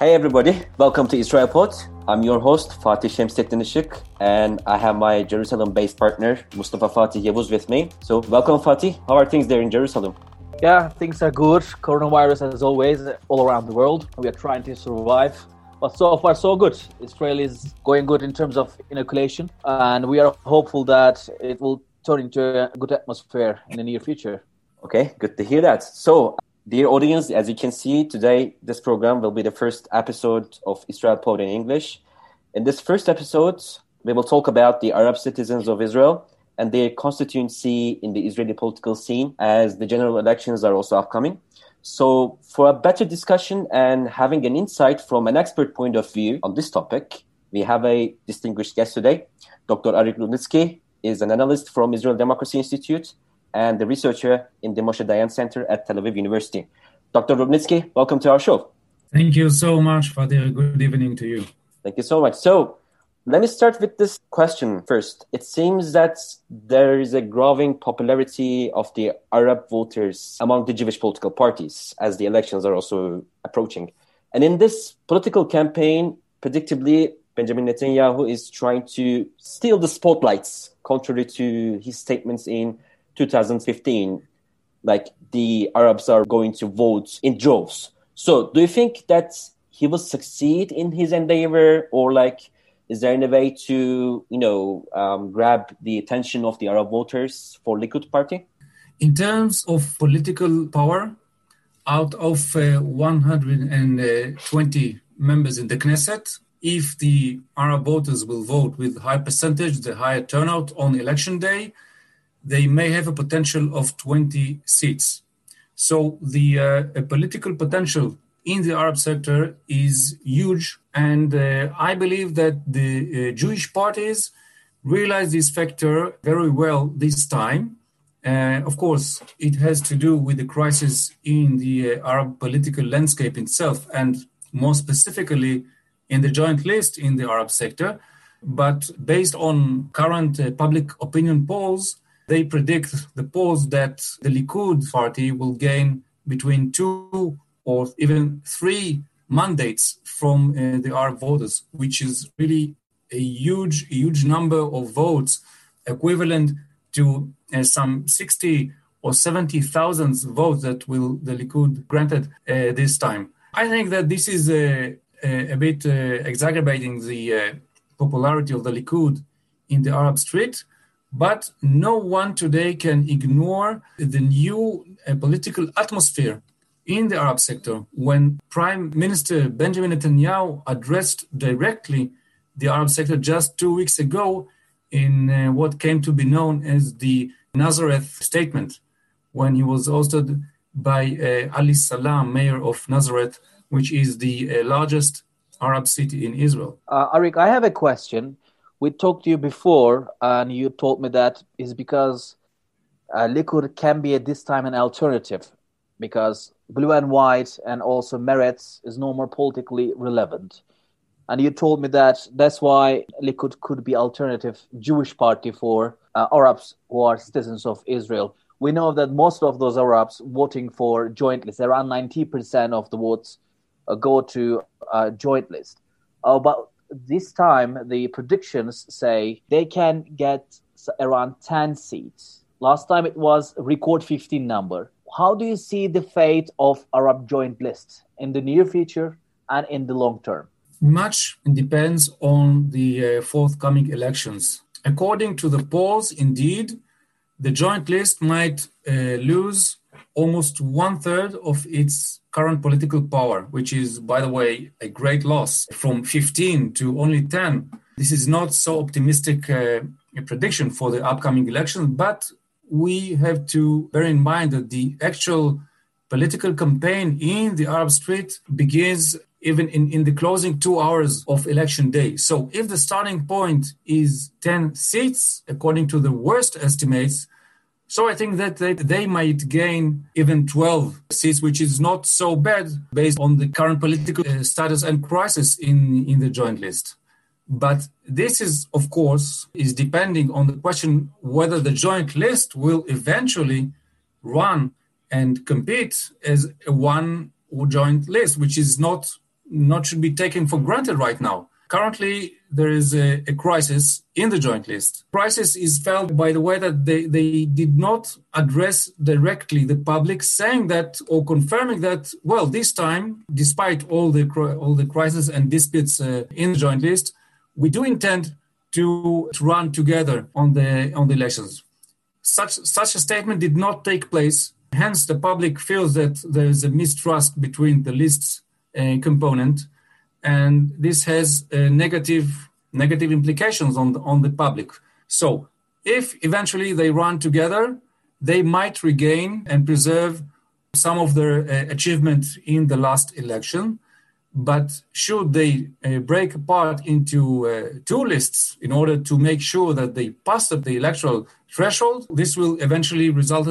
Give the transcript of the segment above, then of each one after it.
Hey everybody, welcome to Israel Pod. I'm your host Fatih Şemsettin Işık, and I have my Jerusalem-based partner Mustafa Fatih Yavuz with me. So welcome Fatih, how are things there in Jerusalem? Yeah, things are good. Coronavirus as always all around the world. We are trying to survive. But so far so good. Israel is going good in terms of inoculation, and we are hopeful that it will turn into a good atmosphere in the near future. Okay, good to hear that. So, dear audience, as you can see, today this program will be the first episode of Israel Pod in English. In this first episode, we will talk about the Arab citizens of Israel and their constituency in the Israeli political scene, as the general elections are also upcoming. So, for a better discussion and having an insight from an expert point of view on this topic, we have a distinguished guest today. Dr. Arik Rudnitsky is an analyst from Israel Democracy Institute and the researcher in the Moshe Dayan Center at Tel Aviv University. Dr. Rudnitsky, welcome to our show. Thank you so much, Fatih. Good evening to you. Thank you so much. So, let me start with this question first. It seems that there is a growing popularity of the Arab voters among the Jewish political parties as the elections are also approaching. And in this political campaign, predictably, Benjamin Netanyahu is trying to steal the spotlights, contrary to his statements in 2015, like the Arabs are going to vote in droves. So do you think that he will succeed in his endeavor, or is there any way to, grab the attention of the Arab voters for Likud party? In terms of political power, out of 120 members in the Knesset, if the Arab voters will vote with high percentage, the higher turnout on election day, they may have a potential of 20 seats. So the political potential in the Arab sector is huge, and I believe that the Jewish parties realize this factor very well this time. Of course, it has to do with the crisis in the Arab political landscape itself, and more specifically in the joint list in the Arab sector. But based on current public opinion polls, they predict the polls that the Likud party will gain between 2 or even 3 mandates from the Arab voters, which is really a huge number of votes, equivalent to some 60 or 70,000 votes that will the Likud granted this time. I think that this is a bit exacerbating the popularity of the Likud in the Arab street. But no one today can ignore the new political atmosphere in the Arab sector when Prime Minister Benjamin Netanyahu addressed directly the Arab sector just 2 weeks ago in what came to be known as the Nazareth statement, when he was hosted by Ali Salam, mayor of Nazareth, which is the largest Arab city in Israel. Arik, I have a question. We talked to you before, and you told me that is because Likud can be at this time an alternative, because blue and white and also Meretz is no more politically relevant. And you told me that that's why Likud could be alternative Jewish party for Arabs who are citizens of Israel. We know that most of those Arabs voting for joint list, around 90% of the votes go to joint list. But this time, the predictions say they can get around 10 seats. Last time it was a record 15 number. How do you see the fate of Arab joint list in the near future and in the long term? Much depends on the forthcoming elections. According to the polls, indeed, the joint list might lose almost 1/3 of its current political power, which is, by the way, a great loss from 15 to only 10. This is not so optimistic a prediction for the upcoming elections, but we have to bear in mind that the actual political campaign in the Arab street begins even in the closing 2 hours of election day. So if the starting point is 10 seats, according to the worst estimates, so I think that they might gain even 12 seats, which is not so bad based on the current political status and crisis in the joint list. But this is, of course, is depending on the question whether the joint list will eventually run and compete as a one joint list, which is not not should be taken for granted right now. Currently, there is a crisis in the Joint List. Crisis is felt by the way that they did not address directly the public, saying that or confirming that, well, this time, despite all the crises and disputes in the Joint List, we do intend to run together on the elections. Such a statement did not take place. Hence, the public feels that there is a mistrust between the list's component, and this has negative implications on the public. So, if eventually they run together, they might regain and preserve some of their achievement in the last election. But should they break apart into two lists in order to make sure that they pass the electoral threshold, this will eventually result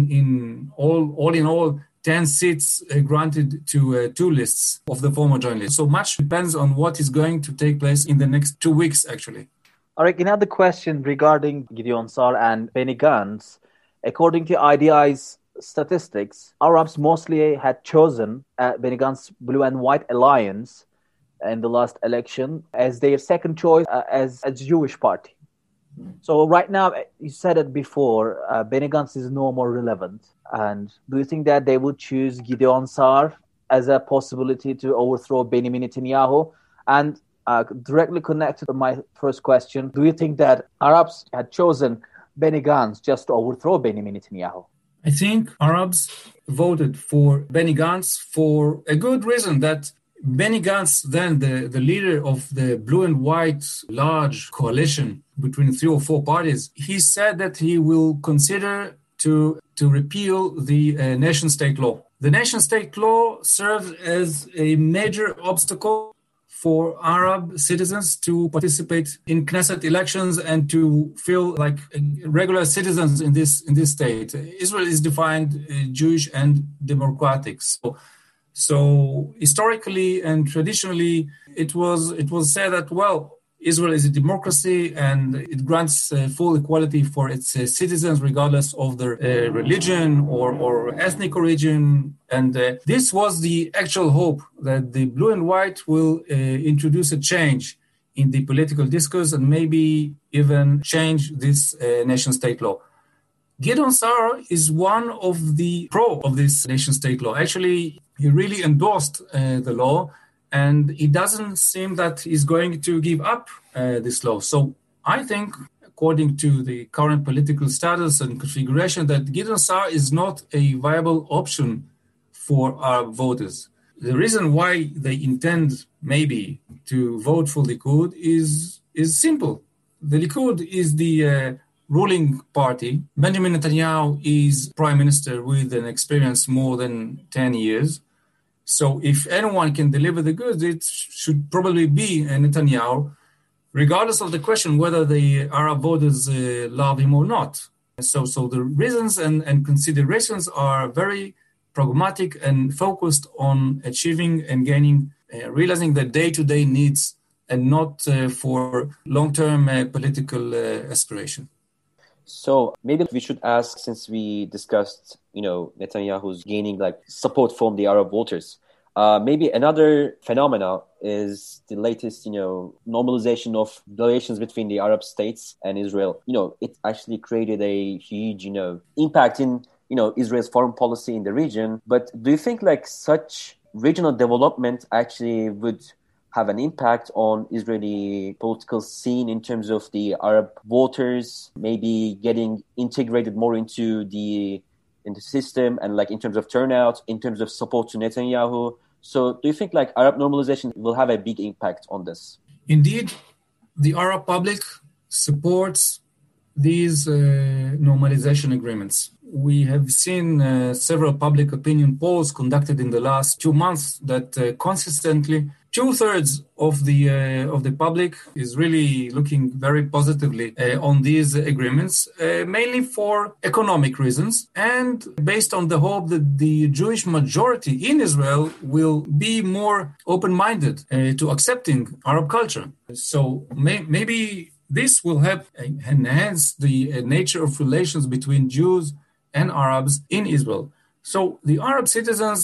in all 10 seats granted to two lists of the former Joint List. So much depends on what is going to take place in the next 2 weeks, actually. Arik, another question regarding Gideon Sa'ar and Benny Gantz. According to IDI's statistics, Arabs mostly had chosen Benny Gantz's Blue and White Alliance in the last election as their second choice as a Jewish party. So right now, you said it before, Benny Gantz is no more relevant. And do you think that they would choose Gideon Sa'ar as a possibility to overthrow Benjamin Netanyahu? And directly connected to my first question, do you think that Arabs had chosen Benny Gantz just to overthrow Benjamin Netanyahu? I think Arabs voted for Benny Gantz for a good reason, that Benny Gantz, then the leader of the Blue and White large coalition between 3 or 4 parties, he said that he will consider to repeal the nation-state law. The nation-state law serves as a major obstacle for Arab citizens to participate in Knesset elections and to feel like regular citizens in this state. Israel is defined Jewish and democratic. So historically and traditionally, it was said that, well, Israel is a democracy and it grants full equality for its citizens regardless of their religion or ethnic origin. And this was the actual hope, that the Blue and White will introduce a change in the political discourse and maybe even change this nation-state law. Gideon Sa'ar is one of the pro of this nation-state law. Actually, he really endorsed the law, and it doesn't seem that he's going to give up this law. So I think, according to the current political status and configuration, that Gideon Sa'ar is not a viable option for our voters. The reason why they intend maybe to vote for Likud is simple. The Likud is the ruling party. Benjamin Netanyahu is prime minister with an experience more than 10 years. So if anyone can deliver the goods, it should probably be Netanyahu, regardless of the question whether the Arab voters love him or not. So the reasons and considerations are very pragmatic and focused on achieving and gaining, realizing the day-to-day needs and not for long-term political aspiration. So maybe we should ask, since we discussed, Netanyahu's gaining support from the Arab voters, maybe another phenomena is the latest, normalization of relations between the Arab states and Israel. It actually created a huge, impact in, Israel's foreign policy in the region. But do you think such regional development actually would have an impact on Israeli political scene in terms of the Arab voters maybe getting integrated more into the system and in terms of turnout, in terms of support to Netanyahu? So do you think Arab normalization will have a big impact on this? Indeed, the Arab public supports these normalization agreements. We have seen several public opinion polls conducted in the last 2 months that consistently 2/3 of the public is really looking very positively on these agreements, mainly for economic reasons and based on the hope that the Jewish majority in Israel will be more open-minded to accepting Arab culture. So maybe this will help enhance the nature of relations between Jews and Arabs in Israel. So the Arab citizens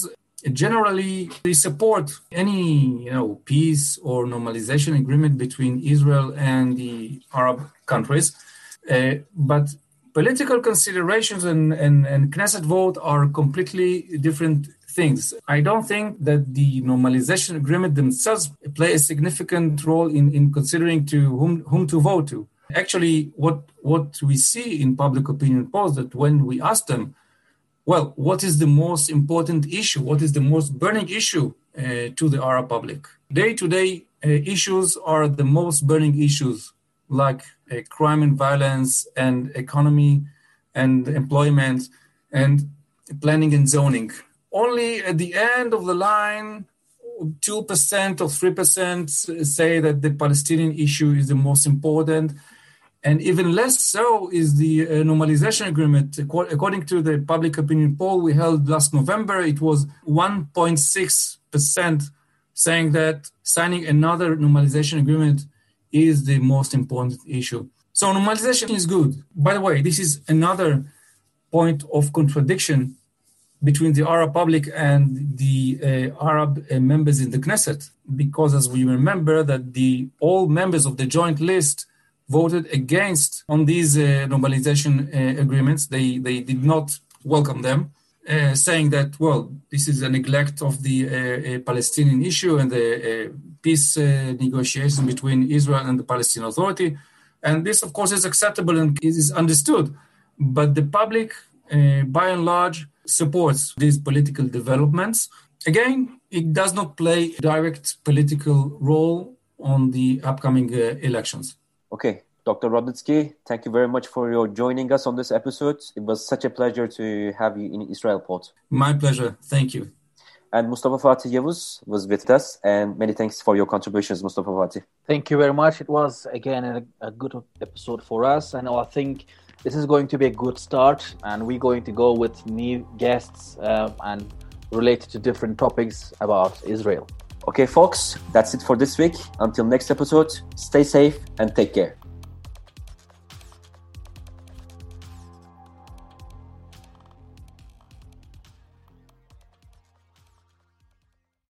generally they support any peace or normalization agreement between Israel and the Arab countries, but political considerations and Knesset vote are completely different things. I don't think that the normalization agreement themselves play a significant role in considering to whom to vote to. Actually, what we see in public opinion polls, that when we ask them, well, what is the most important issue? What is the most burning issue to the Arab public? Day-to-day issues are the most burning issues, like crime and violence and economy and employment and planning and zoning. Only at the end of the line, 2% or 3% say that the Palestinian issue is the most important. And even less so is the normalization agreement. According to the public opinion poll we held last November, it was 1.6% saying that signing another normalization agreement is the most important issue. So normalization is good. By the way, this is another point of contradiction between the Arab public and the Arab members in the Knesset, because as we remember that all members of the joint list voted against on these normalization agreements. They did not welcome them, saying that, well, this is a neglect of the Palestinian issue and the peace negotiation between Israel and the Palestinian Authority. And this, of course, is acceptable and is understood. But the public, by and large, supports these political developments. Again, it does not play a direct political role on the upcoming elections. Okay, Dr. Rudnitsky, thank you very much for joining us on this episode. It was such a pleasure to have you in Israel Pod. My pleasure. Thank you. And Mustafa Fatih Yavuz was with us, and many thanks for your contributions, Mustafa Fatih. Thank you very much. It was, again, a good episode for us, and I think this is going to be a good start, and we're going to go with new guests and related to different topics about Israel. Okay, folks, that's it for this week. Until next episode, stay safe and take care.